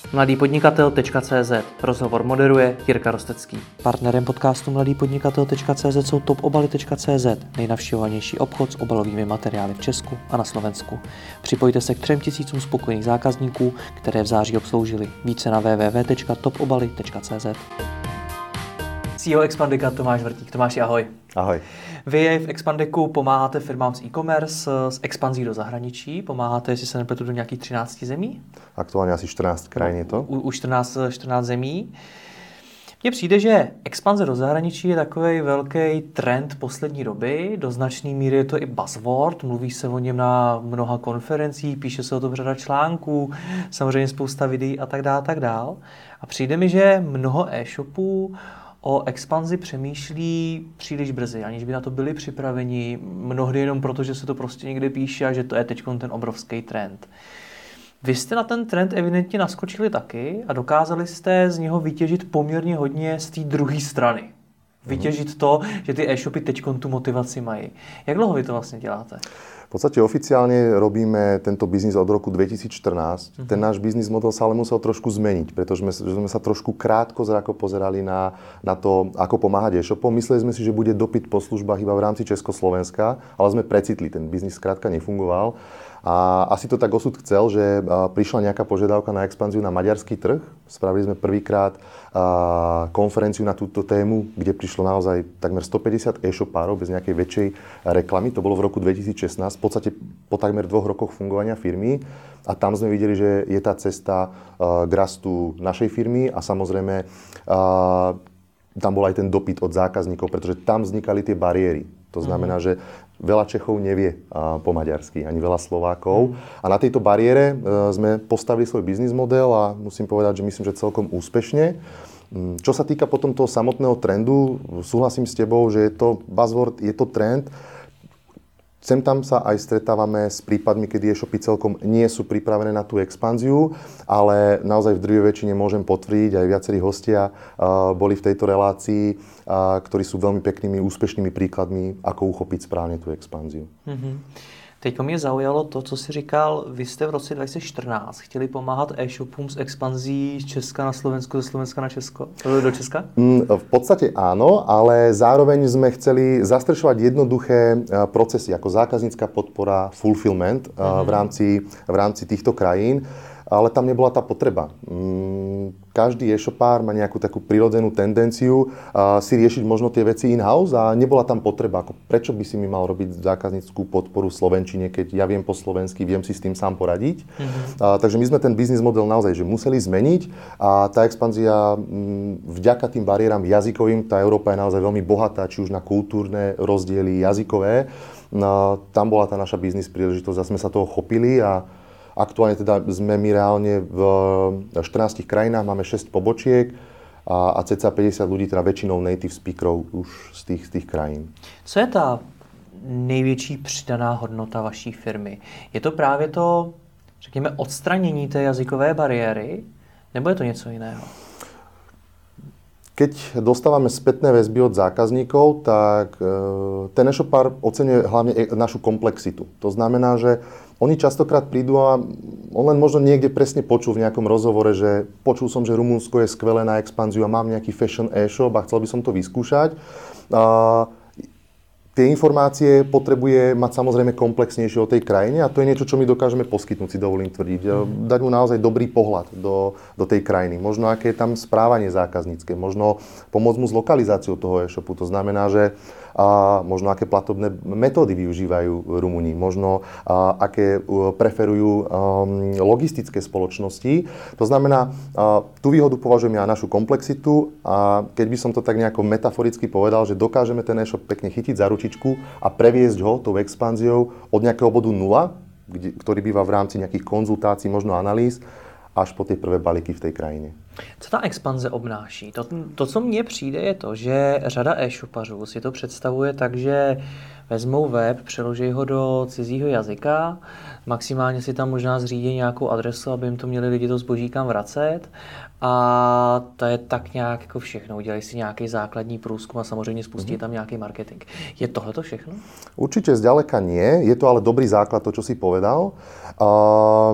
mladýpodnikatel.cz. Rozhovor moderuje Jirka Rostecký. Partnerem podcastu mladýpodnikatel.cz jsou topobaly.cz, nejnavštěvovanější obchod s obalovými materiály v Česku a na Slovensku. Připojte se k 3000 spokojených zákazníků, které v září obsloužili. Více na www.topobaly.cz. CEO Expandika Tomáš Vrtík. Tomáši, ahoj. Ahoj. Vy v Expandiku pomáháte firmám z e-commerce, s expanzí do zahraničí. Pomáháte, jestli se nepletu, do nějakých 13 zemí? Aktuálně asi 14 krajín je to. Už 14 zemí. Mně přijde, že expanze do zahraničí je takový velký trend poslední doby. Do značné míry je to i buzzword, mluví se o něm na mnoha konferencích, píše se o tom řada článků, samozřejmě spousta videí a tak dále. A přijde mi, že mnoho e-shopů o expanzi přemýšlí příliš brzy, aniž by na to byli připraveni, mnohdy jenom proto, že se to prostě někde píše a že to je teď ten obrovský trend. Vy jste na ten trend evidentně naskočili taky a dokázali jste z něho vytěžit poměrně hodně z té druhé strany. Vytěžit to, že ty e-shopy teď tu motivaci mají. Jak dlouho vy to vlastně děláte? V podstate oficiálne robíme tento biznis od roku 2014. Ten náš biznis model sa ale musel trošku zmeniť, pretože sme sa trošku krátko zrako pozerali na to, ako pomáhať e-shopom. Mysleli sme si, že bude dopyt po službách iba v rámci Československa, ale sme precitli, ten biznis skrátka nefungoval. A asi to tak osud chcel, že prišla nejaká požiadavka na expanziu na maďarský trh. Spravili sme prvýkrát konferenciu na túto tému, kde prišlo naozaj takmer 150 e-shopárov bez nejakej väčšej reklamy. To bolo v roku 2016, v podstate po takmer 2 rokoch fungovania firmy. A tam sme videli, že je tá cesta k rastu našej firmy a samozrejme tam bol aj ten dopyt od zákazníkov, pretože tam vznikali tie bariéry. To znamená, že veľa Čechov nevie po maďarsky, ani veľa Slovákov. A na tejto bariére sme postavili svoj biznis model a musím povedať, že myslím, že celkom úspešne. Čo sa týka potom toho samotného trendu, súhlasím s tebou, že je to buzzword, je to trend. Sem tam sa aj stretávame s prípadmi, kedy e-shopy celkom nie sú pripravené na tú expanziu, ale naozaj v drvivej väčšine môžem potvrdiť, aj viacerí hostia boli v tejto relácii, ktorí sú veľmi peknými, úspešnými príkladmi, ako uchopiť správne tú expanziu. Teďko mě zaujalo to, co jsi říkal, vy jste v roce 2014 chtěli pomáhat e-shopům s expanzí z Česka na Slovensko, ze Slovenska na Česko, do Česka? V podstate áno, ale zároveň sme chceli zastrešovať jednoduché procesy, ako zákaznícka podpora, fulfillment v rámci týchto krajín, ale tam nebola tá potreba. Každý e-shopár má nejakú takú prirodzenú tendenciu si riešiť možno tie veci in-house a nebola tam potreba. Prečo by si mi mal robiť zákazníckú podporu v slovenčine, keď ja viem po slovensky, viem si s tým sám poradiť. Takže my sme ten biznis model naozaj že museli zmeniť a tá expanzia vďaka tým bariéram jazykovým, tá Európa je naozaj veľmi bohatá, či už na kultúrne rozdiely jazykové. Tam bola tá naša biznis príležitosť a sme sa toho chopili a aktuálne teda sme my reálne v 14 krajinách, máme 6 pobočiek a cca 50 ľudí, teda väčšinou native speakerov už z tých krajín. Co je ta největší přidaná hodnota vaší firmy? Je to právě to, řekněme, odstranění té jazykové bariéry, nebo je to něco jiného? Keď dostávame spätné väzby od zákazníkov, tak ten e-shopár oceňuje hlavne našu komplexitu. To znamená, že oni častokrát prídu a on len možno niekde presne počul v nejakom rozhovore, že počul som, že Rumunsko je skvelé na expanziu a mám nejaký fashion e-shop a chcel by som to vyskúšať. Tie informácie potrebuje mať samozrejme komplexnejšie o tej krajine a to je niečo, čo my dokážeme poskytnúť, si dovolím tvrdiť. Dať mu naozaj dobrý pohľad do tej krajiny. Možno aké je tam správanie zákaznícke, možno pomôcť mu s lokalizáciou toho e-shopu. To znamená, že možno aké platobné metódy využívajú Rumúni, možno aké preferujú logistické spoločnosti. To znamená, tú výhodu považujem ja našu komplexitu a keď by som to tak nejako metaforicky povedal, že dokážeme ten e-shop pekne chytiť za ručičku a previesť ho tou expanziou od nejakého bodu 0, ktorý býva v rámci nejakých konzultácií, možno analýz, až po ty prvé balíky v té krajině. Co ta expanze obnáší? To, co mně přijde, je to, že řada e-shopařů si to představuje tak, že vezmou web, přeloží ho do cizího jazyka, maximálně si tam možná zřídí nějakou adresu, aby jim to měli lidi to zboží kam vracet a to je tak nějak jako všechno. Udělají si nějaký základní průzkum a samozřejmě spustí tam nějaký marketing. Je tohle to všechno? Určitě zďaleka nie. Je to ale dobrý základ, to, čo si povedal.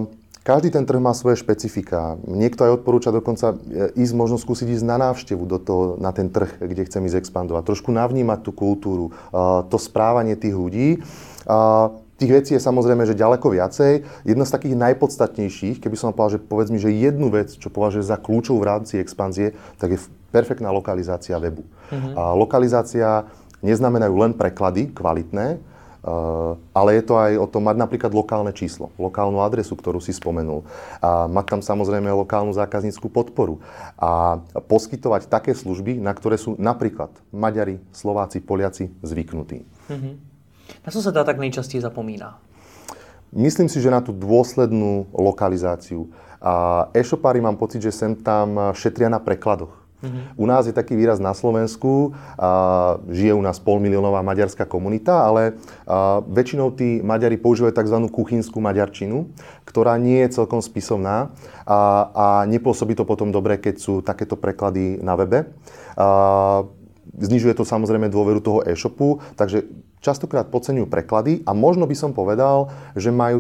Každý ten trh má svoje špecifika. Niekto aj odporúča dokonca ísť, možno skúsiť ísť na návštevu na ten trh, kde chcem ísť expandovať. Trošku navnímať tú kultúru, to správanie tých ľudí. Tých vecí je samozrejme, že ďaleko viacej. Jedna z takých najpodstatnejších, keby som povedal, že povedz mi, že jednu vec, čo považujem za kľúčovú v rámci expanzie, tak je perfektná lokalizácia webu. Lokalizácia neznamenajú len preklady kvalitné, ale je to aj o tom mať napríklad lokálne číslo, lokálnu adresu, ktorú si spomenul. A mať tam samozrejme lokálnu zákaznícku podporu. A poskytovať také služby, na ktoré sú napríklad Maďari, Slováci, Poliaci zvyknutí. Na co sa dá tak nejčastěji zapomíná? Myslím si, že na tú dôslednú lokalizáciu. A e-shopári mám pocit, že sem tam šetria na prekladoch. U nás je taký výraz na Slovensku, žije u nás 500 000 maďarská komunita, ale väčšinou tí Maďari používajú tzv. Kuchynskú maďarčinu, ktorá nie je celkom spisovná a nepôsobí to potom dobre, keď sú takéto preklady na webe. Znižuje to samozrejme dôveru toho e-shopu, takže častokrát podceňujú preklady a možno by som povedal, že majú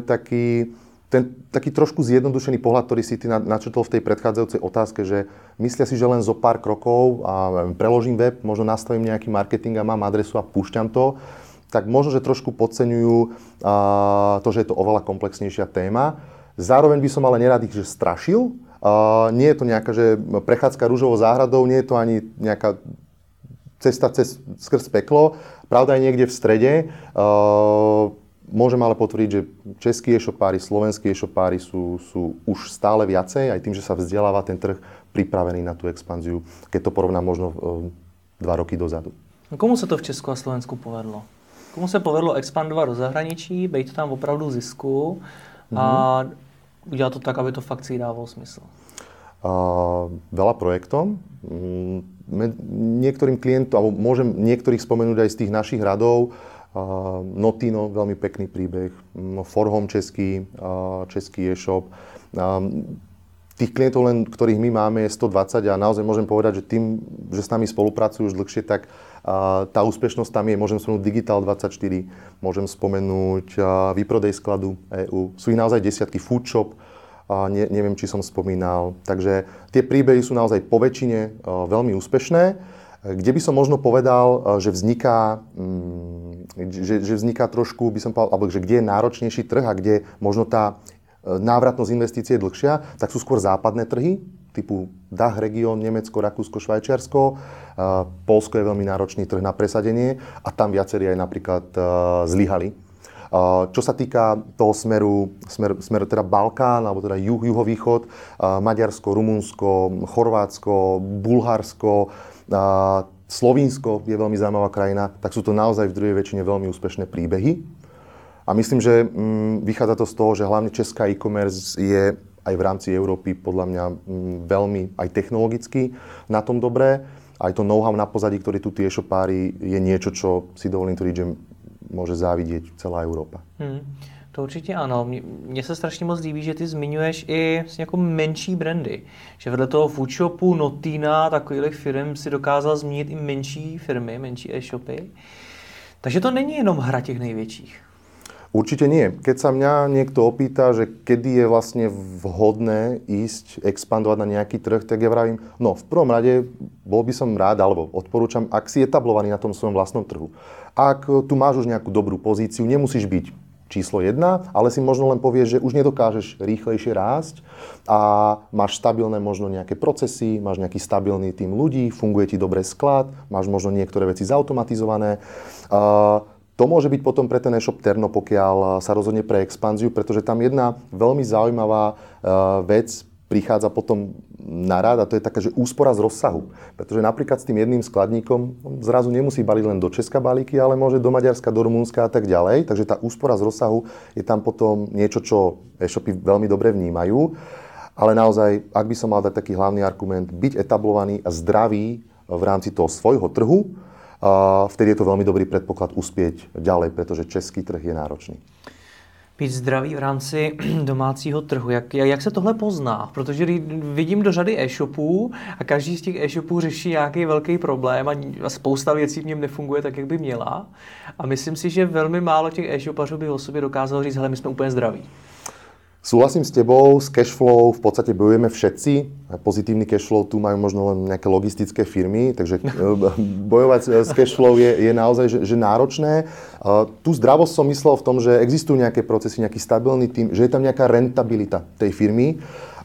taký trošku zjednodušený pohľad, ktorý si ty načrtol v tej predchádzajúcej otázke, že myslia si, že len zo pár krokov a preložím web, možno nastavím nejaký marketing a mám adresu a púšťam to, tak možno, že trošku podceňujú to, že je to oveľa komplexnejšia téma. Zároveň by som ale nerad ich, že strašil. Nie je to nejaká, že prechádzka rúžovou záhradou, nie je to ani nejaká cesta skrz peklo. Pravda je niekde v strede. Môžem ale potvrdiť, že českí e-shopári, slovenskí e-shopári sú už stále viacej, aj tým, že sa vzdeláva ten trh, pripravený na tú expanziu, keď to porovnám možno 2 roky dozadu. Komu se to v Česku a Slovensku povedlo? Komu se povedlo expandovat do zahraničí, být tam opravdu zisku a udělat to tak, aby to fakt si dávalo smysl? Veľa projektom. Niektorým klientom, alebo môžem niektorých spomenúť aj z tých našich radov, Notino, veľmi pekný príbeh, Forhom český e-shop. Tých klientov, len ktorých my máme, je 120 a naozaj môžem povedať, že tým, že s nami spolupracujú už dlhšie, tak tá úspešnosť tam je. Môžem spomenúť Digital24, môžem spomenúť Výprodej skladu EU. Sú ich naozaj desiatky, Foodshop, neviem, či som spomínal. Takže tie príbehy sú naozaj po väčšine veľmi úspešné. Kde by som možno povedal, že vzniká trošku, by som povedal, alebo že kde je náročnejší trh a kde možno tá návratnosť investície je dlhšia, tak sú skôr západné trhy, typu DACH región, Nemecko, Rakúsko, Švajčiarsko. Poľsko je veľmi náročný trh na presadenie a tam viacerí aj napríklad zlyhali. Čo sa týka toho smeru teda Balkán, alebo teda juhovýchod, Maďarsko, Rumunsko, Chorvátsko, Bulharsko, Slovinsko je veľmi zaujímavá krajina, tak sú to naozaj v druhej väčšine veľmi úspešné príbehy. A myslím, že vychádza to z toho, že hlavne česká e-commerce je aj v rámci Európy podľa mňa veľmi aj technologicky na tom dobré. Aj to know-how na pozadí, ktorý tu tie e-shopári, je niečo, čo si dovolím tvrdiť, že môže závidieť celá Európa. To určitě ano. Mně se strašně moc líbí, že ty zmiňuješ i jako menší brandy. Že vedle toho Foodshopu, Notina, takových firm si dokázal zmínit i menší firmy, menší e-shopy. Takže to není jenom hra těch největších. Určite nie. Keď sa mňa niekto opýta, že kedy je vlastne vhodné ísť, expandovať na nejaký trh, tak ja vravím, no v prvom rade bol by som rád, alebo odporúčam, ak si etablovaný na tom svojom vlastnom trhu. Ak tu máš už nejakú dobrú pozíciu, nemusíš byť číslo 1, ale si možno len povieš, že už nedokážeš rýchlejšie rásť a máš stabilné možno nejaké procesy, máš nejaký stabilný tím ľudí, funguje ti dobre sklad, máš možno niektoré veci zautomatizované. To môže byť potom pre ten e-shop terno, pokiaľ sa rozhodne pre expanziu, pretože tam jedna veľmi zaujímavá vec prichádza potom na rad a to je taká, že úspora z rozsahu. Pretože napríklad s tým jedným skladníkom zrazu nemusí baliť len do Česka balíky, ale môže do Maďarska, do Rumunska a tak ďalej. Takže tá úspora z rozsahu je tam potom niečo, čo e-shopy veľmi dobre vnímajú. Ale naozaj, ak by som mal dať taký hlavný argument, byť etablovaný a zdravý v rámci toho svojho trhu, vtedy je to veľmi dobrý predpoklad uspieť ďalej, pretože český trh je náročný. Být zdravý v rámci domácího trhu. Jak se tohle pozná? Protože vidím do řady e-shopů a každý z těch e-shopů řeší nějaký velký problém a spousta věcí v něm nefunguje tak, jak by měla. A myslím si, že velmi málo těch e-shopařů by o sobě dokázalo říct, hele, my jsme úplně zdraví. Súhlasím s tebou, s cashflow v podstate bojujeme všetci. Pozitívny cashflow tu majú možno len nejaké logistické firmy, takže bojovať s cashflow je naozaj že náročné. Tu zdravosť som myslel v tom, že existujú nejaké procesy, nejaký stabilný tým, že je tam nejaká rentabilita tej firmy.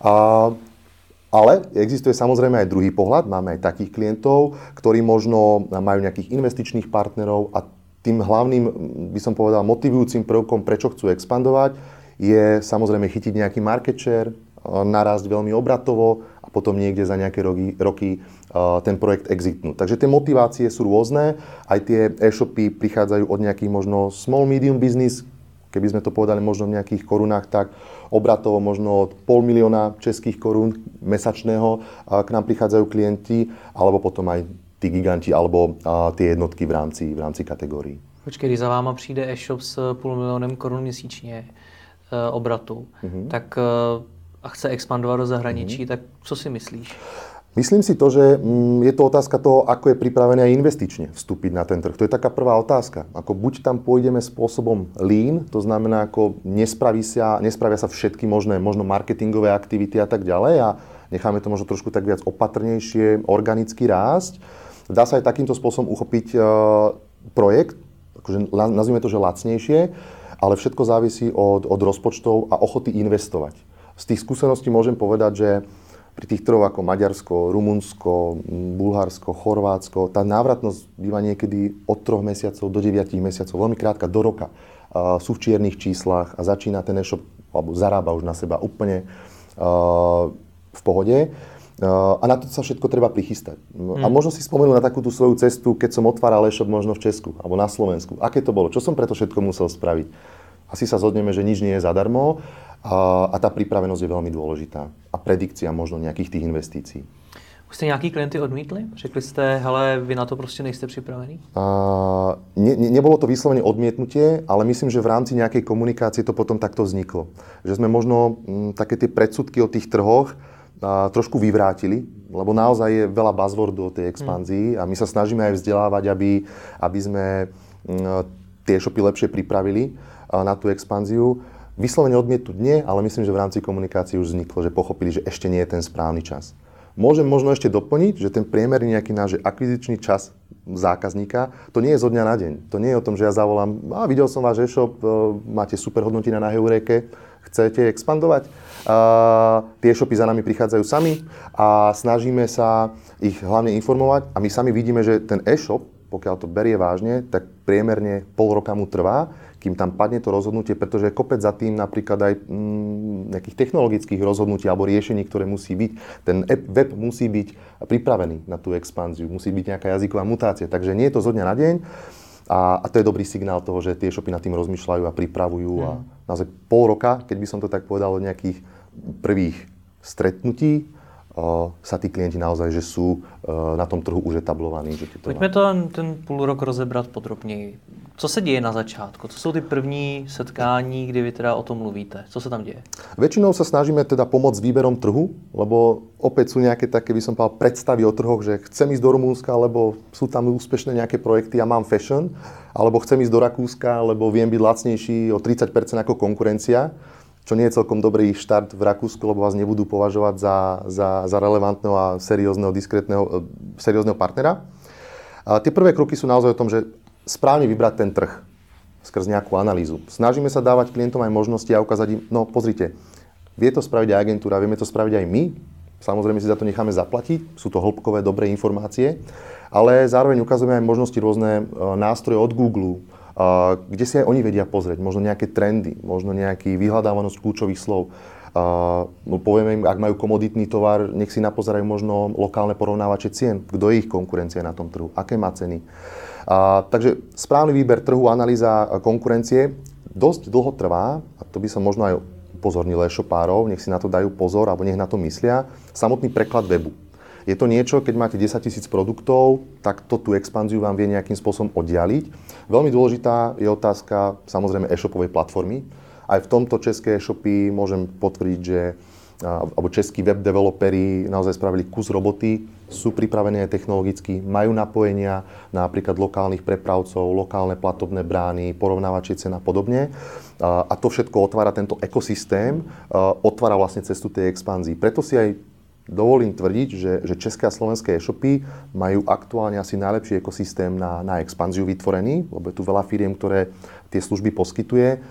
Ale existuje samozrejme aj druhý pohľad. Máme aj takých klientov, ktorí možno majú nejakých investičných partnerov a tým hlavným, by som povedal, motivujúcim prvkom, prečo chcú expandovať, je samozrejme chytiť nejaký market share, narásť veľmi obratovo a potom niekde za nejaké roky ten projekt exitnúť. Takže tie motivácie sú rôzne, aj tie e-shopy prichádzajú od nejakých možno small medium business, keby sme to povedali možno v nejakých korunách, tak obratovo možno od 500 000 českých korún mesačného k nám prichádzajú klienti, alebo potom aj tí giganti, alebo tie jednotky v rámci kategórií. Počkej, když za váma přijde e-shop s 500 000 korun měsíčně obratu, tak a chce expandovať do zahraničí, tak co si myslíš? Myslím si to, že je to otázka toho, ako je pripravený aj investične vstúpiť na ten trh. To je taká prvá otázka. Ako buď tam pôjdeme spôsobom lean, to znamená, ako nespravia sa všetky možné možno marketingové aktivity a tak ďalej a necháme to možno trošku tak viac opatrnejšie, organicky rásť. Dá sa aj takýmto spôsobom uchopiť projekt, akože nazvime to, že lacnejšie, ale všetko závisí od rozpočtov a ochoty investovať. Z tých skúseností môžem povedať, že pri tých trhoch ako Maďarsko, Rumunsko, Bulharsko, Chorvátsko, tá návratnosť býva niekedy od 3 mesiacov do 9 mesiacov, veľmi krátka, do roka. Sú v čiernych číslach a začína ten e-shop, alebo zarába už na seba úplne v pohode. A na to sa všetko treba prichystať. A možno si spomenul na takú tú svoju cestu, keď som otváral e-shop možno v Česku alebo na Slovensku. Aké to bolo? Čo som preto všetko musel spraviť? Asi sa zhodneme, že nič nie je zadarmo a tá pripravenosť je veľmi dôležitá. A predikcia možno nejakých tých investícií. Už jste nějaký klienty odmítli? Řekli jste, hele, vy na to prostě nejste připravení? Nebolo to vyslovene odmietnutie, ale myslím, že v rámci nejakej komunikácie to potom takto vzniklo. Že sme možno také tie predsudky o tých trhoch trošku vyvrátili, lebo naozaj je veľa buzzwordov o tej expanzii a my sa snažíme aj vzdelávať, aby sme tie e-shopy lepšie pripravili na tú expanziu. Vyslovene odmietnúť nie, ale myslím, že v rámci komunikácie už vzniklo, že pochopili, že ešte nie je ten správny čas. Môžem možno ešte doplniť, že ten priemerný nejaký náš akvizičný čas zákazníka, to nie je zo dňa na deň. To nie je o tom, že ja zavolám, videl som váš e-shop, máte super hodnotenia na Heureke, chcete expandovať? Tie e-shopy za nami prichádzajú sami a snažíme sa ich hlavne informovať a my sami vidíme, že ten e-shop, pokiaľ to berie vážne, tak priemerne pol roka mu trvá, kým tam padne to rozhodnutie, pretože kopec za tým napríklad aj nejakých technologických rozhodnutí alebo riešení, ktoré musí byť. Ten web musí byť pripravený na tú expanziu, musí byť nejaká jazyková mutácia, takže nie je to zo dňa na deň. A to je dobrý signál toho, že tie e-shopy nad tým rozmýšľajú a pripravujú. A naozaj pol roka, keď by som to tak povedal, od nejakých prvých stretnutí, sa tí klienti naozaj, že sú na tom trhu už etablovaní. Pojďme ten půl rok rozebrat podrobněji. Co se děje na začátku? Co jsou ty první setkání, kdy vy teda o tom mluvíte? Co se tam děje? Väčšinou sa snažíme teda pomôcť s výberom trhu, lebo opäť sú nejaké také, by som povedal, predstavy o trhoch, že chcem ísť do Rumúnska, lebo sú tam úspešné nejaké projekty a mám fashion, alebo chcem ísť do Rakúska, lebo viem byť lacnejší o 30% ako konkurencia, čo nie je celkom dobrý štart v Rakúsku, lebo vás nebudú považovať za relevantného a seriózneho partnera. A tie prvé kroky sú naozaj o tom, že správne vybrať ten trh skrz nejakú analýzu. Snažíme sa dávať klientom aj možnosti a ukázať im, no pozrite, vie to spraviť aj agentúra, vieme to spraviť aj my, samozrejme si za to necháme zaplatiť, sú to hĺbkové, dobré informácie, ale zároveň ukazujeme aj možnosti rôzne nástroje od Google, kde si aj oni vedia pozrieť, možno nejaké trendy, možno nejaký vyhľadávanosť kľúčových slov. Povieme im, ak majú komoditný tovar, nech si napozerajú možno lokálne porovnávače cien, kto je ich konkurencia na tom trhu, aké má ceny. Takže správny výber trhu, analýza konkurencie dosť dlho trvá, a to by som možno aj upozornil e-shopárov, nech si na to dajú pozor, alebo nech na to myslia, samotný preklad webu. Je to niečo, keď máte 10 000 produktov, tak to tú expanziu vám vie nejakým spôsobom oddialiť. Veľmi dôležitá je otázka samozrejme e-shopovej platformy. Aj v tomto české e-shopy môžem potvrdiť, že alebo českí web developeri naozaj spravili kus roboty, sú pripravení aj technologicky, majú napojenia na napríklad lokálnych prepravcov, lokálne platobné brány, porovnávačie cen a podobne. A to všetko otvára tento ekosystém, otvára vlastne cestu tej expanzii. Preto si aj dovolím tvrdiť, že české a slovenské e-shopy majú aktuálne asi najlepší ekosystém na expanziu vytvorený, lebo je tu veľa firiem, ktoré tie služby poskytuje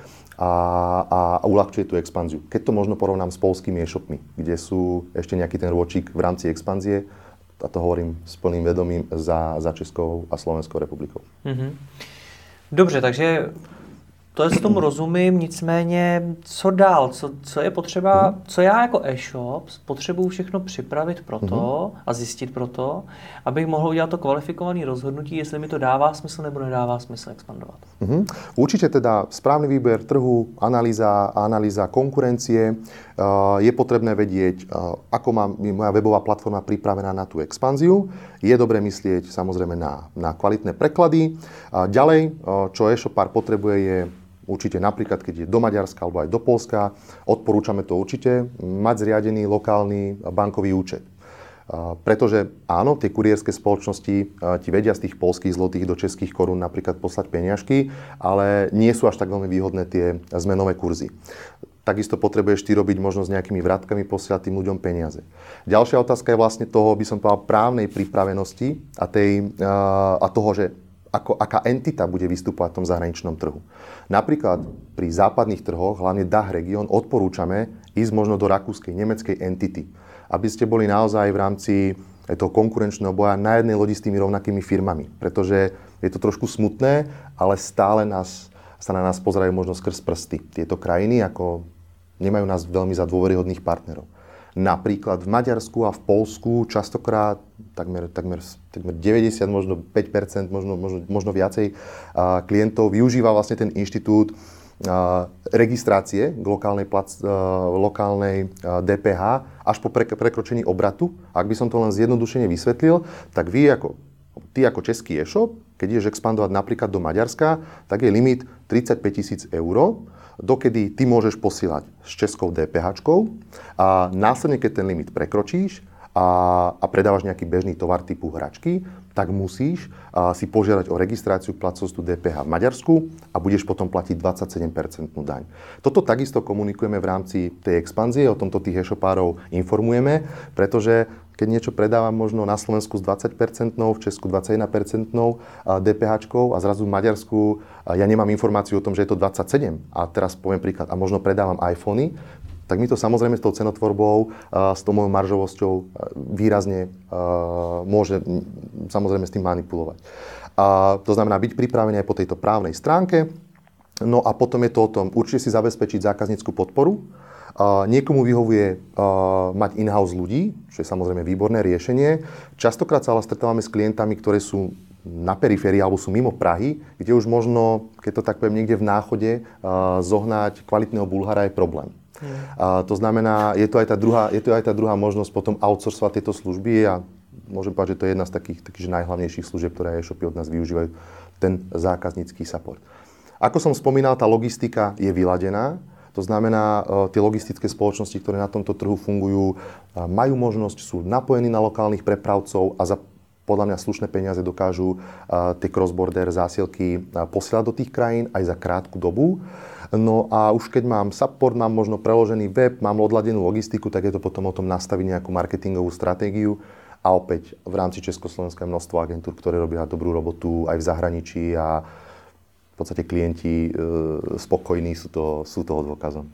a uľahčuje tú expanziu. Keď to možno porovnám s poľskými e-shopmi, kde sú ešte nejaký ten rôčik v rámci expanzie, a to hovorím s plným vedomím za Českou a Slovenskou republikou. Mm-hmm. Dobře, takže to je s tomu rozumím, nicméně co dál, co je potřeba, co já jako e-shop potřebuji všechno připravit pro to a zjistit pro to, abych mohl udělat to kvalifikované rozhodnutí, jestli mi to dává smysl nebo nedává smysl expandovat. Určite teda správny výber trhu, analýza konkurencie, je potrebné vedieť, ako má moja webová platforma pripravená na tú expanziu. Je dobré myslieť samozrejme na kvalitné preklady. Ďalej, čo e-shopár potrebuje, je určite napríklad, keď je do Maďarska alebo aj do Poľska, odporúčame to určite, mať zriadený lokálny bankový účet. Pretože áno, tie kurierské spoločnosti ti vedia z tých poľských zlotých do českých korún napríklad poslať peniažky, ale nie sú až tak veľmi výhodné tie zmenové kurzy. Takisto potrebuješ ty robiť možno s nejakými vratkami posielať tým ľuďom peniaze. Ďalšia otázka je vlastne toho, by som povedal, právnej pripravenosti a toho, že aká entita bude vystupovať v tom zahraničnom trhu. Napríklad pri západných trhoch, hlavne DACH región, odporúčame ísť možno do rakúskej, nemeckej entity, aby ste boli naozaj v rámci toho konkurenčného boja na jednej lodi s tými rovnakými firmami. Pretože je to trošku smutné, ale stále sa na nás pozerajú možno skrz prsty. Tieto krajiny ako nemajú nás veľmi za dôveryhodných partnerov. Napríklad v Maďarsku a v Poľsku častokrát takmer 90, možno 5%, možno viacej klientov využíva vlastne ten inštitút registrácie k lokálnej DPH až po prekročení obratu. Ak by som to len zjednodušene vysvetlil, tak ty ako český e-shop, keď ideš expandovať napríklad do Maďarska, tak je limit 35 000 eur, dokedy ty môžeš posielať s českou DPH-čkou a následne, keď ten limit prekročíš a predávaš nejaký bežný tovar typu hračky, tak musíš si požiadať o registráciu platcovstvu DPH v Maďarsku a budeš potom platiť 27% daň. Toto takisto komunikujeme v rámci tej expanzie, o tomto tých e-shopárov informujeme, pretože keď niečo predávam možno na Slovensku s 20%, v Česku 21% DPH-čkou a zrazu v Maďarsku ja nemám informáciu o tom, že je to 27%. A teraz poviem príklad, a možno predávam iPhony, tak mi to samozrejme s tou cenotvorbou, s tou mojou maržovosťou výrazne môže samozrejme s tým manipulovať. To znamená byť pripravený aj po tejto právnej stránke. No a potom je to o tom určite si zabezpečiť zákaznícku podporu. Niekomu vyhovuje mať in-house ľudí, čo je samozrejme výborné riešenie. Častokrát sa ale stretávame s klientami, ktorí sú na periférii alebo sú mimo Prahy, kde už možno, keď to tak poviem, niekde v náchode zohnať kvalitného Bulhara je problém. To znamená, je to aj tá druhá možnosť potom outsourcovať tieto služby a môžem povedať, že to je jedna z takých najhlavnejších služieb, ktoré e-shopy od nás využívajú, ten zákaznícky support. Ako som spomínal, tá logistika je vyladená. To znamená, tie logistické spoločnosti, ktoré na tomto trhu fungujú, majú možnosť, sú napojení na lokálnych prepravcov a za podľa mňa slušné peniaze dokážu tie cross-border zásielky posielať do tých krajín aj za krátku dobu. No a už keď mám support, mám možno preložený web, mám odladenú logistiku, tak je to potom o tom nastaviť nejakú marketingovú stratégiu. A opäť v rámci Československa je množstvo agentúr, ktoré robia dobrú robotu aj v zahraničí a v podstate klienti spokojní sú toho dôkazom.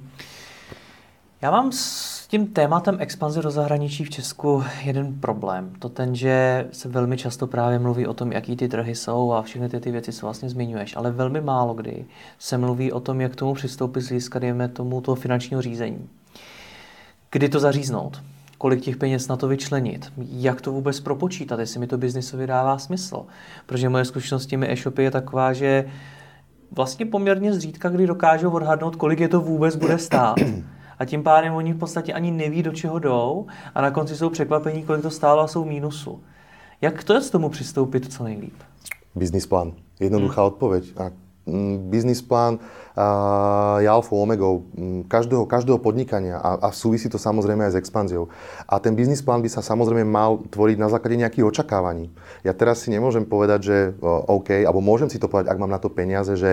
Já mám s tím tématem expanze do zahraničí v Česku jeden problém. To ten, že se velmi často právě mluví o tom, jaký ty trhy jsou a všechny ty věci, co vlastně zmiňuješ, ale velmi málo kdy se mluví o tom, jak k tomu přistoupit z hlediska, dejme tomu, toho finančního řízení. Kdy to zaříznout? Kolik těch peněz na to vyčlenit? Jak to vůbec propočítat, jestli mi to biznisově dává smysl? Protože moje zkušenost s těmi e-shopy je taková, že vlastně poměrně zřídka, kdy dokážou odhadnout, kolik je to vůbec bude stát. A tím pádem oni v podstatě ani neví, do čeho jdou a na konci jsou překvapení, kolik to stálo a jsou v mínusu. Jak to je s tomu přistoupit co nejlíp? Business plán. Jednoduchá odpoveď. Business plán je alfou omegou každého podnikania a súvisí to samozrejme aj s expanziou. A ten business plán by sa samozrejme mal tvoriť na základe nejakých očakávaní. Ja teraz si nemôžem povedať, že OK, alebo môžem si to povedať, ak mám na to peniaze, že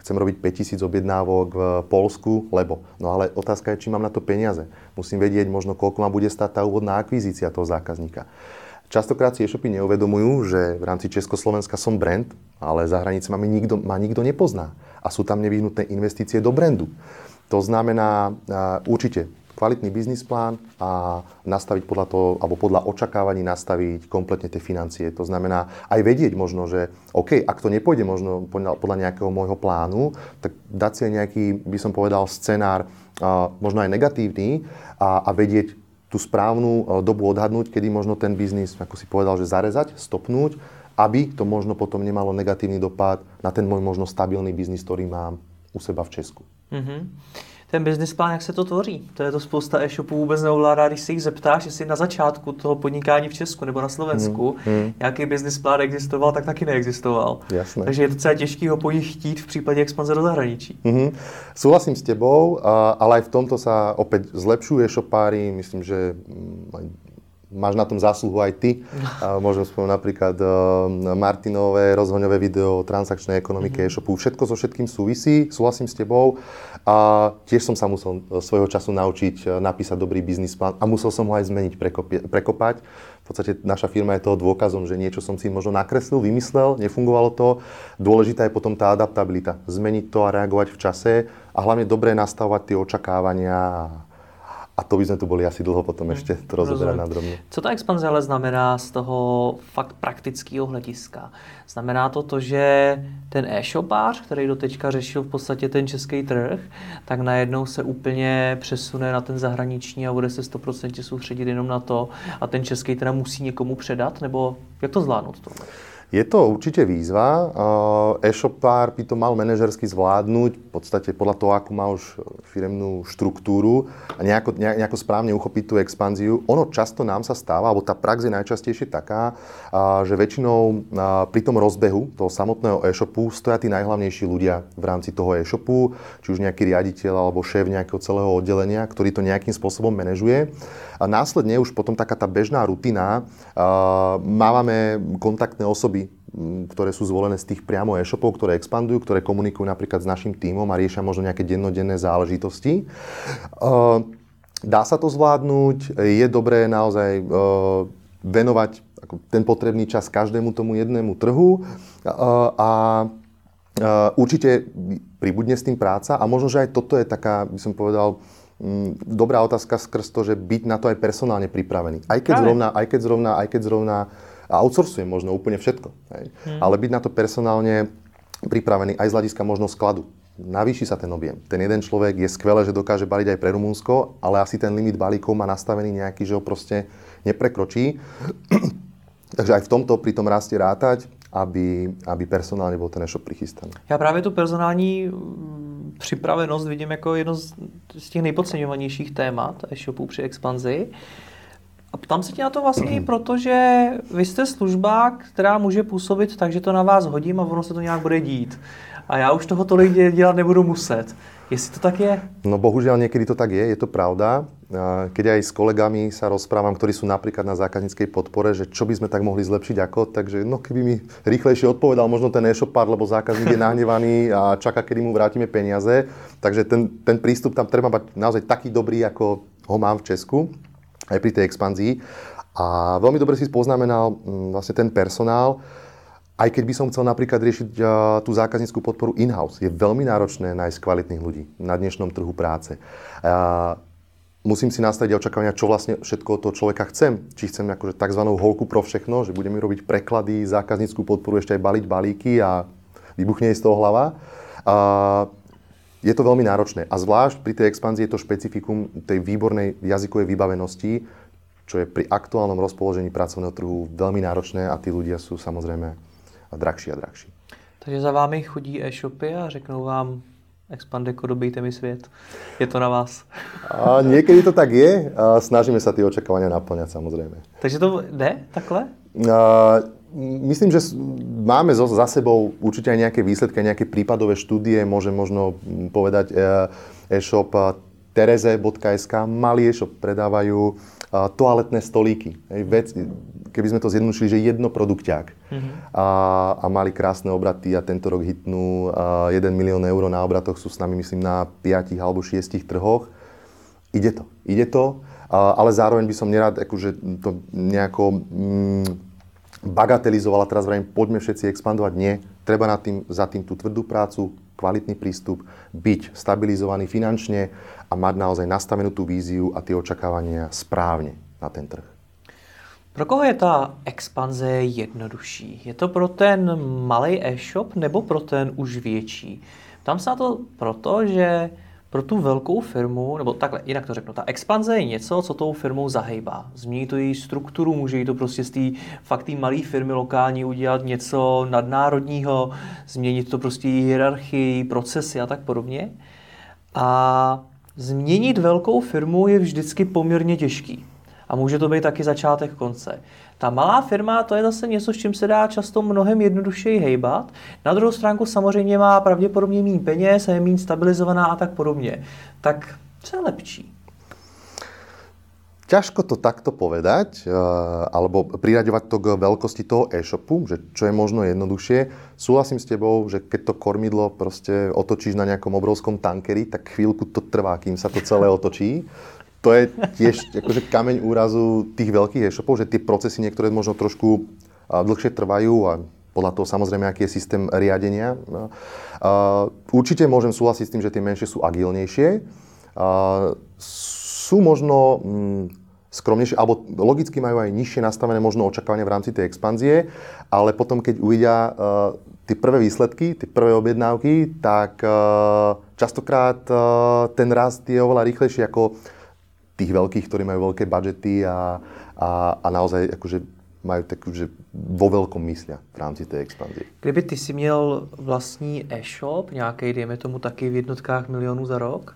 chcem robiť 5000 objednávok v Poľsku, lebo. No ale otázka je, či mám na to peniaze. Musím vedieť možno, koľko ma bude stáť tá úvodná akvizícia toho zákazníka. Častokrát si e-shopy neuvedomujú, že v rámci Československa som brand, ale za hranicami ma nikto nepozná. A sú tam nevyhnutné investície do brandu. To znamená určite kvalitný biznis plán a nastaviť podľa toho, alebo podľa očakávaní nastaviť kompletne tie financie. To znamená aj vedieť možno, že OK, ak to nepôjde možno podľa nejakého môjho plánu, tak dať si aj nejaký, by som povedal, scenár, možno aj negatívny a vedieť tú správnu dobu odhadnúť, kedy možno ten biznis, ako si povedal, že zarezať, stopnúť, aby to možno potom nemalo negatívny dopad na ten môj možno stabilný biznis, ktorý mám u seba v Česku. Mm-hmm. Ten business plán, jak se to tvoří? To je to spousta e-shopů vůbec neovládá, když si jich zeptáš, jestli na začátku toho podnikání v Česku nebo na Slovensku nějaký business plán existoval, tak taky neexistoval. Jasné. Takže je docela těžký ho po nich chtít v případě expanze do zahraničí. Súhlasím s tebou, ale aj v tomto sa opäť zlepšujú e-shopári. Myslím, že máš na tom zásluhu aj ty. Môžem spomenúť napríklad Martinové rozhoňové video o transakčnej ekonomike e-shopu. Všetko so všetkým súvisí, súhlasím s tebou. A tiež som sa musel svojho času naučiť napísať dobrý biznis plán a musel som ho aj zmeniť, prekopať. V podstate naša firma je toho dôkazom, že niečo som si možno nakreslil, vymyslel, nefungovalo to. Dôležitá je potom tá adaptabilita. Zmeniť to a reagovať v čase a hlavne dobre nastavovať tie očakávania. A to by sme tu boli asi dlho potom ešte to rozoberať na drobne. Co ta expanze ale znamená z toho fakt praktického hlediska? Znamená to, že ten e-shopář, který doteďka řešil v podstatě ten český trh, tak najednou se úplně přesune na ten zahraniční a bude se 100% soustředit jenom na to a ten český teda musí někomu předat? Nebo jak to zvládnout tohle? Je to určite výzva. E-shopár by to mal manažersky zvládnuť, v podstate podľa toho, akú má už firemnú štruktúru a nejako správne uchopiť tú expanziu. Ono často nám sa stáva, alebo tá prax je najčastejšie taká, že väčšinou pri tom rozbehu toho samotného e-shopu stoja tí najhlavnejší ľudia v rámci toho e-shopu, či už nejaký riaditeľ alebo šéf nejakého celého oddelenia, ktorý to nejakým spôsobom manažuje. A následne už potom taká tá bežná rutina, máme kontaktné osoby, ktoré sú zvolené z tých priamo e-shopov, ktoré expandujú, ktoré komunikujú napríklad s našim tímom a riešia možno nejaké dennodenné záležitosti. Dá sa to zvládnuť, je dobré naozaj venovať ten potrebný čas každému tomu jednému trhu a určite pribudne s tým práca a možno, že aj toto je taká, by som povedal, dobrá otázka skrz to, že byť na to aj personálne pripravený. Aj keď zrovna outsourcujem možno úplne všetko. Ale byť na to personálne pripravený aj z hľadiska možno skladu. Navýši sa ten objem. Ten jeden človek je skvelé, že dokáže baliť aj pre Rumunsko, ale asi ten limit balíkov má nastavený nejaký, že ho proste neprekročí. Takže aj v tomto pri tom raste rátať, aby personálne bol ten e-shop prichystaný. Já právě tu personální připravenost vidím jako jedno z těch nejpodceňovanějších témat e-shopů při expanzi. A ptám se tě na to vlastně i proto, že vy jste služba, která může působit tak, že to na vás hodím a ono se to nějak bude dít. A já už toho tolik dělat nebudu muset. Jestli to tak je? No bohužiaľ niekedy to tak je to pravda. Keď aj s kolegami sa rozprávam, ktorí sú napríklad na zákazníckej podpore, že čo by sme tak mohli zlepšiť ako, takže keby mi rýchlejšie odpovedal možno ten e-shopár, lebo zákazník je nahnevaný a čaká, kedy mu vrátime peniaze. Takže ten prístup tam treba mať naozaj taký dobrý, ako ho mám v Česku, aj pri tej expanzii. A veľmi dobre si poznamenal vlastne ten personál. Aj keď by som chcel napríklad riešiť tú zákazníckú podporu in-house, je veľmi náročné nájsť kvalitných ľudí na dnešnom trhu práce. Musím si nastaviť očakávania, čo vlastne všetko od toho človeka chcem. Či chcem akože takzvanú holku pro všechno, že budeme robiť preklady, zákazníckú podporu, ešte aj baliť balíky a vybuchne jej z toho hlava. Je to veľmi náročné. A zvlášť pri tej expanzii je to špecifikum tej výbornej jazykovej vybavenosti, čo je pri aktuálnom rozpoložení pracovného trhu veľmi náročné a tí ľudia sú samozrejme drahší a drahší. Takže za vámi chodí e-shopy a řeknou vám Expandeko, dobejte mi svět. Je to na vás. A niekedy to tak je. A snažíme sa tie očakávania naplňať samozrejme. Takže to jde takhle? Myslím, že máme za sebou určite aj nejaké výsledky, nejaké prípadové štúdie. Môžem možno povedať e-shop tereze.sk. Malý e-shop predávajú toaletné stolíky. keby sme to zjednodušili, že jedno produkťák a mali krásne obraty a tento rok hitnú 1 milión eur na obratoch, sú s nami myslím na 5 alebo 6 trhoch. Ide to, ale zároveň by som nerád akože to nejako bagatelizoval a teraz vrajím, poďme všetci expandovať. Nie, treba za tým tú tvrdú prácu, kvalitný prístup, byť stabilizovaný finančne a mať naozaj nastavenú tú víziu a tie očakávania správne na ten trh. Pro koho je ta expanze jednodušší? Je to pro ten malý e-shop nebo pro ten už větší? Tam se na to proto, že pro tu velkou firmu, nebo takhle, jinak to řeknu, ta expanze je něco, co tou firmou zahejbá. Změní to její strukturu, může jí to prostě z té malé firmy lokální udělat něco nadnárodního, změnit to prostě hierarchii, procesy a tak podobně. A změnit velkou firmu je vždycky poměrně těžký. A může to být taky začátek konce. Ta malá firma, to je zase něco, s čím se dá často mnohem jednodušeji hejbat. Na druhou stránku samozřejmě má pravděpodobně méně peněz, je méně stabilizovaná a tak podobně. Tak co je lepší? Ťažko to takto povedať, alebo priraďovať to k veľkosti toho e-shopu, že čo je možno jednoduchšie. Súhlasím s tebou, že keď to kormidlo proste otočíš na nejakom obrovskom tankeri, tak chvíľku to trvá, kým sa to celé otočí. To je tiež akože kameň úrazu tých veľkých e-shopov, že tie procesy niektoré možno trošku dlhšie trvajú a podľa toho samozrejme, aký je systém riadenia. Určite môžem súhlasiť s tým, že tie menšie sú agilnejšie. Sú možno skromnejšie, alebo logicky majú aj nižšie nastavené možno očakávania v rámci tej expanzie, ale potom, keď uvidia tie prvé výsledky, tie prvé objednávky, tak častokrát ten rast je oveľa rýchlejší ako tých veľkých, ktorí majú veľké budžety a naozaj akože majú takú, že vo veľkom myslia v rámci tej expanzie. Kdyby ty si měl vlastní e-shop, nějaký, dejme tomu taky v jednotkách milionů za rok,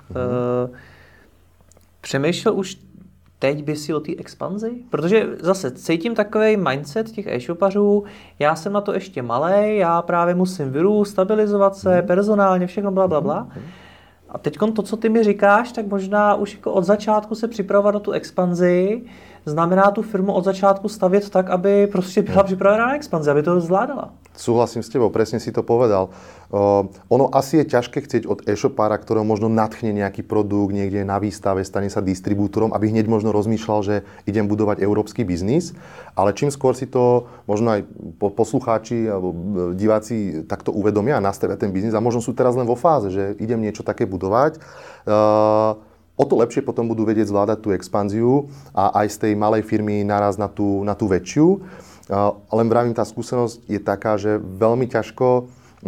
přemýšlel už teď by si o té expanzi? Protože zase cítím takový mindset těch e-shopařů, já jsem na to ještě malej, já právě musím vyrůst, stabilizovat se, personálně, všechno blablabla. A teď to, co ty mi říkáš, tak možná už jako od začátku se připravovat na tu expanzi, znamená tu firmu od začátku stavět tak, aby prostě byla připravená na expanzi, aby to zvládala. Súhlasím s tebou, presne si to povedal. Ono asi je ťažké chcieť od e-shopára, ktorého možno nadchne nejaký produkt, niekde na výstave, stane sa distribútorom, aby hneď možno rozmýšľal, že idem budovať európsky biznis. Ale čím skôr si to možno aj poslucháči alebo diváci takto uvedomia a nastavia ten biznis a možno sú teraz len vo fáze, že idem niečo také budovať, o to lepšie potom budú vedieť zvládať tú expanziu a aj z tej malej firmy naraz na tú väčšiu. Len vravím, tá skúsenosť je taká, že veľmi ťažko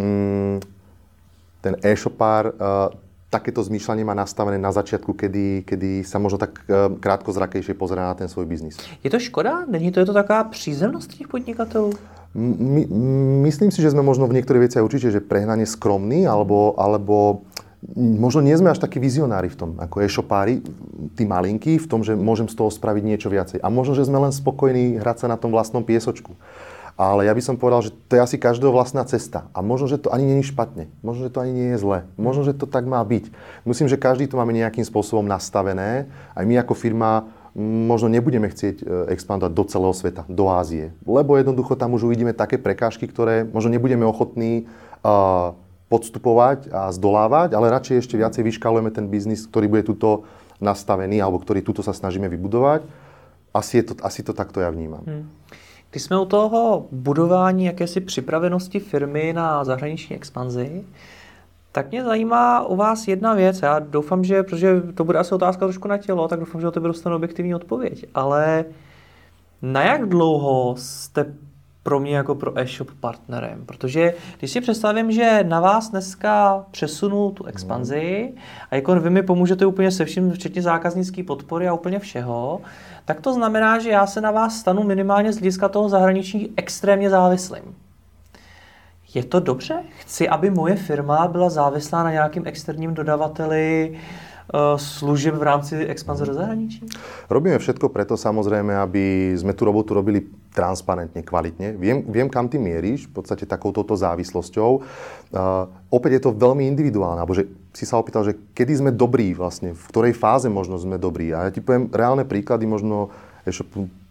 ten e-shopár takéto zmýšľanie má nastavené na začiatku, kedy sa možno tak krátkozrakejšie pozerá na ten svoj biznis. Je to škoda? Není to, je to taká přízemnosť těch podnikatelů? Myslím si, že sme možno v niektorých veciach určite, že prehnane skromní, alebo možno nie sme až takí vizionári v tom, ako e-shopári, tí malinkí, v tom, že môžem z toho spraviť niečo viacej. A možno, že sme len spokojní hrať sa na tom vlastnom piesočku. Ale ja by som povedal, že to je asi každého vlastná cesta. A možno, že to ani nie je špatne. Možno, že to ani nie je zle. Možno, že to tak má byť. Myslím, že každý to máme nejakým spôsobom nastavené. Aj my ako firma možno nebudeme chcieť expandovať do celého sveta, do Ázie. Lebo jednoducho tam už uvidíme také prekážky, ktoré možno nebudeme ochotní podstupovať a zdolávať, ale radšej ešte viacej vyškálujeme ten biznis, ktorý bude tuto nastavený, alebo ktorý tuto sa snažíme vybudovať. Asi to takto ja vnímam. Když jsme u toho budování jakési připravenosti firmy na zahraniční expanzi, tak mě zajímá u vás jedna věc. Já doufám, že, protože to bude asi otázka trošku na tělo, tak doufám, že o tebe dostanu objektivní odpověď. Ale na jak dlouho jste pro mě jako pro e-shop partnerem? Protože když si představím, že na vás dneska přesunu tu expanzi a jako vy mi pomůžete úplně se vším, včetně zákaznické podpory a úplně všeho, tak to znamená, že já se na vás stanu minimálně z hlediska toho zahraničí extrémně závislým. Je to dobře? Chci, aby moje firma byla závislá na nějakým externím dodavateli služieb v rámci expanze do zahraničí? Robíme všetko preto, samozrejme, aby sme tú robotu robili transparentne, kvalitne. Viem, kam ty mieríš, v podstate takouto závislosťou. Opäť je to veľmi individuálne, alebo že si sa opýtal, že kedy sme dobrí vlastne, v ktorej fáze možno sme dobrí. A ja ti poviem reálne príklady možno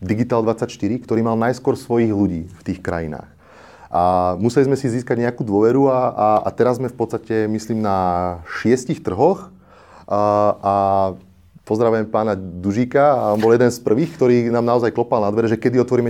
Digital24, ktorý mal najskôr svojich ľudí v tých krajinách. A museli sme si získať nejakú dôveru a teraz sme v podstate, myslím, na 6 trhoch a pozdravujem pána Dužíka a on bol jeden z prvých, ktorý nám naozaj klopal na dvere, že kedy otvoríme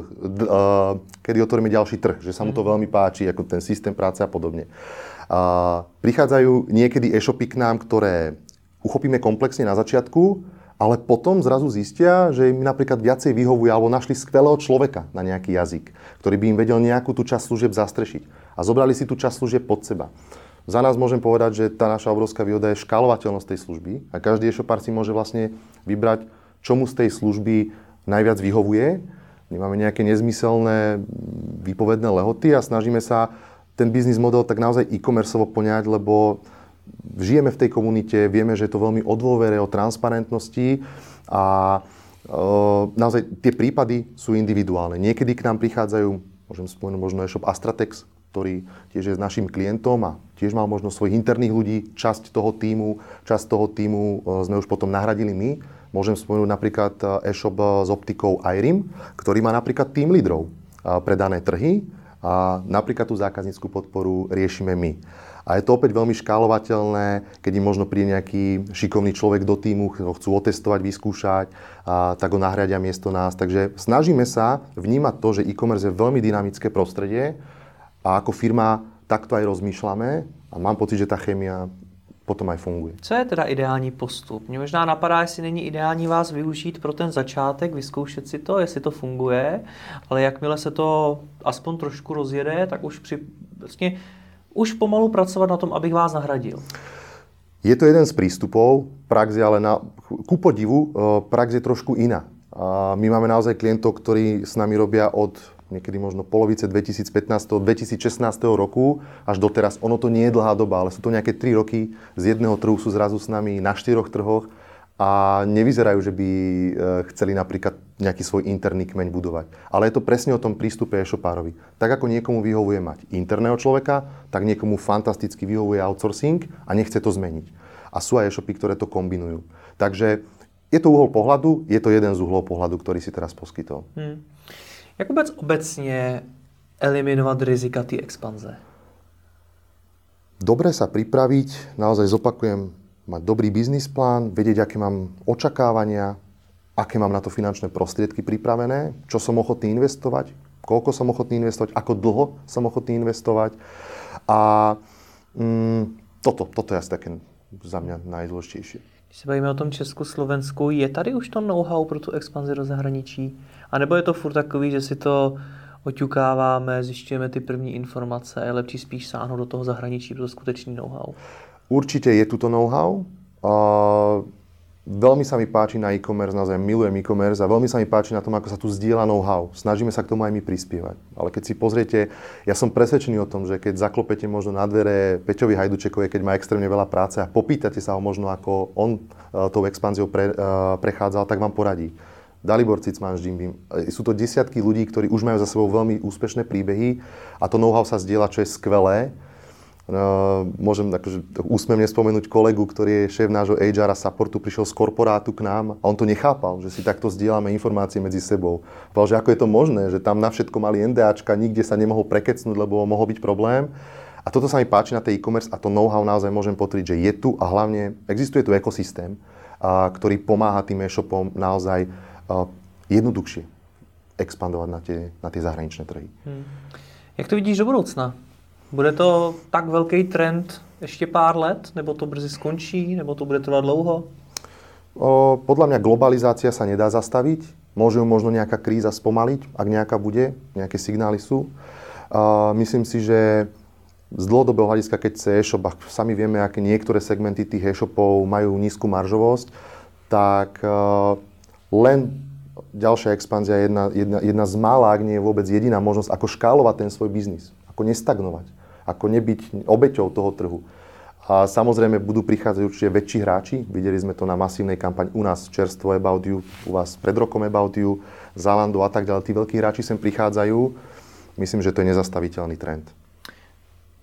ďalší trh, že sa mu to veľmi páči, ako ten systém práce a podobne. Prichádzajú niekedy e-shopy k nám, ktoré uchopíme komplexne na začiatku, ale potom zrazu zistia, že im napríklad viacej vyhovuje alebo našli skvelého človeka na nejaký jazyk, ktorý by im vedel nejakú tú časť služieb zastrešiť. A zobrali si tú časť služieb pod seba. Za nás môžem povedať, že tá naša obrovská výhoda je škálovateľnosť tej služby a každý e-shopár si môže vlastne vybrať, čo mu z tej služby najviac vyhovuje. My máme nejaké nezmyselné výpovedné lehoty a snažíme sa ten biznis model tak naozaj e-commerceovo poňať, lebo žijeme v tej komunite, vieme, že je to veľmi o dôvere, o transparentnosti a naozaj tie prípady sú individuálne. Niekedy k nám prichádzajú, môžem spomenúť možno e-shop Astratex, ktorý tiež je s našim klientom a tiež mal možno svojich interných ľudí, časť toho týmu sme už potom nahradili my. Môžem spomenúť napríklad e-shop s optikou iRim, ktorý má napríklad tým lídrov pre dané trhy a napríklad tú zákazníckú podporu riešime my. A je to opäť veľmi škálovateľné, keď im možno príde nejaký šikovný človek do týmu, ho chcú otestovať, vyskúšať, tak ho nahradia miesto nás. Takže snažíme sa vnímať to, že e-commerce je veľmi dynamické prostredie a ako firma takto aj rozmýšľame a mám pocit, že tá chémia potom aj funguje. Co je teda ideální postup? Mě možná napadá, jestli není ideální vás využít pro ten začátek, vyzkoušet si to, jestli to funguje, ale jakmile se to aspoň trošku rozjede, tak už pomalu pracovat na tom, abych vás nahradil. Je to jeden z prístupov, prax je ale ku podivu, prax je trošku iná. My máme naozaj klientov, ktorí s nami robia od niekedy možno polovice 2015-2016 roku až doteraz. Ono to nie je dlhá doba, ale sú to nejaké 3 roky. Z jedného trhu sú zrazu s nami na 4 trhoch a nevyzerajú, že by chceli napríklad nejaký svoj interný kmeň budovať. Ale je to presne o tom prístupe e-shopárovi. Tak ako niekomu vyhovuje mať interného človeka, tak niekomu fantasticky vyhovuje outsourcing a nechce to zmeniť. A sú aj e-shopy, ktoré to kombinujú. Takže je to uhol pohľadu, je to jeden z uhlov pohľadu, ktorý si teraz poskytol. Jak vůbec obecně eliminovat rizika té expanze? Dobre sa pripraviť, naozaj zopakujem, mať dobrý biznis plán, vedieť, aké mám očakávania, aké mám na to finančné prostriedky pripravené, čo som ochotný investovať, koľko som ochotný investovať, ako dlho som ochotný investovať. A toto je asi také za mňa najdôležitejšie. Když se bavíme o tom Česku, Slovensku, je tady už to know-how pro tu expanzi do zahraničí? A nebo je to furt takový, že si to oťukáváme, zjišťujeme ty první informace, je lepší spíš sáhnout do toho zahraničí pro to skutečný know-how? Určite je tu to know-how. Veľmi sa mi páči na e-commerce, naozaj milujem e-commerce a veľmi sa mi páči na tom, ako sa tu zdieľa know-how. Snažíme sa k tomu aj my prispievať. Ale keď si pozriete, ja som presvedčený o tom, že keď zaklopete možno na dvere Peťovi Hajdučekovi, keď má extrémne veľa práce a popýtate sa ho možno, ako on tou expanziou prechádzal, tak vám poradí. Dalibor Cicman s Jimbym. Sú to desiatky ľudí, ktorí už majú za sebou veľmi úspešné príbehy a to know-how sa zdieľa, čo je skvelé. Môžem akože úsmevne spomenúť kolegu, ktorý je šéf nášho HR a supportu, prišiel z korporátu k nám a on to nechápal, že si takto zdieľame informácie medzi sebou. Povedal, že ako je to možné, že tam na všetko mali NDAčka, nikde sa nemohol prekecnúť, lebo mohol byť problém. A toto sa mi páči na tej e-commerce a to know-how naozaj môžem potvrdiť, že je tu a hlavne existuje tu ekosystém, ktorý pomáha tým e-shopom naozaj jednoduchšie expandovať na tie zahraničné trhy. Jak to vidíš do budoucna? Bude to tak velký trend ještě pár let, nebo to brzy skončí, nebo to bude trvat dlouho? Podľa mňa globalizácia sa nedá zastaviť. Môže ju možno nejaká kríza spomaliť, ak nejaká bude, nejaké signály sú. Myslím si, že z dlhodobého hľadiska, keď chce e-shop, a sami vieme, aké niektoré segmenty tých e-shopov majú nízku maržovosť, tak len ďalšia expanzia je jedna z mála, ak nie je vôbec jediná možnosť, ako škálovať ten svoj biznis, ako nestagnovať, ako nebyť obeťou toho trhu. A samozrejme budú prichádzať určite väčší hráči. Videli sme to na masívnej kampani u nás čerstvo About You, u vás pred rokom About You, Zalando a tak ďalej. Tí veľkí hráči sem prichádzajú. Myslím, že to je nezastaviteľný trend.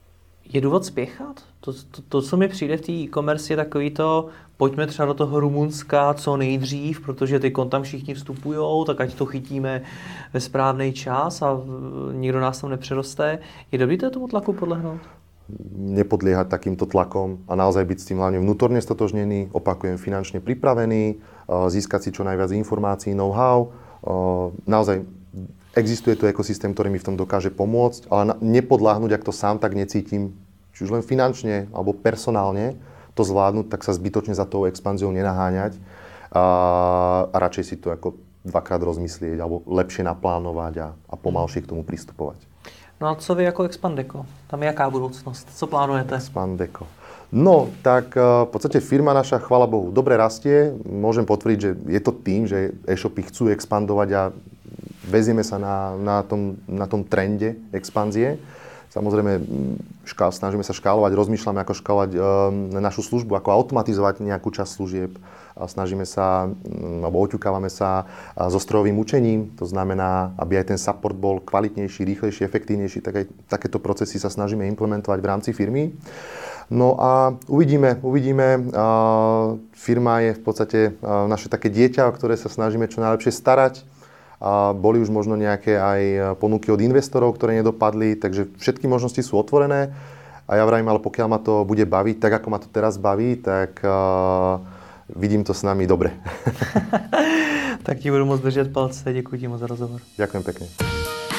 Je důvod spěchat? To, co mi přijde v té e-commerce, je takový to, pojďme třeba do toho Rumunska co nejdřív, protože ty tam všichni vstupujou, tak ať to chytíme ve správný čas a nikdo nás tam nepřeroste. Je dobrý tomu tlaku podlehnout? Nepodliehať takýmto tlakom a naozaj byť s tým hlavne vnútorne stotožnený, opakujem, finančne pripravený, získať si čo najviac informácií, know-how. Naozaj existuje tu ekosystém, ktorý mi v tom dokáže pomôcť, ale nepodľahnúť, ak to sám tak necítim, či už len finančne alebo personálne, to zvládnuť, tak sa zbytočne za tou expanziou nenaháňať a radšej si to ako dvakrát rozmyslieť alebo lepšie naplánovať a pomalšie k tomu pristupovať. No a co vy jako Expandeco? Tam je jaká budoucnost? Co plánujete? Expandeco. No, tak v podstate firma naša, chvála Bohu, dobre rastie. Môžem potvrdiť, že je to tým, že e-shopy chcú expandovať a vezieme sa na tom trende expanzie. Samozrejme, snažíme sa škálovať, rozmýšľame, ako škálovať našu službu, ako automatizovať nejakú časť služieb. Snažíme sa, alebo oťukávame sa so strojovým učením. To znamená, aby aj ten support bol kvalitnejší, rýchlejší, efektívnejší, tak aj takéto procesy sa snažíme implementovať v rámci firmy. No a uvidíme. Firma je v podstate naše také dieťa, o ktoré sa snažíme čo najlepšie starať. A boli už možno nejaké aj ponuky od investorov, ktoré nedopadli, takže všetky možnosti sú otvorené. A ja vravím, ale pokiaľ ma to bude baviť, tak ako ma to teraz baví, tak vidím to s nami dobre. Tak ti budu moc držet palce. Děkuji ti moc za rozhovor. Ďakujem pekne.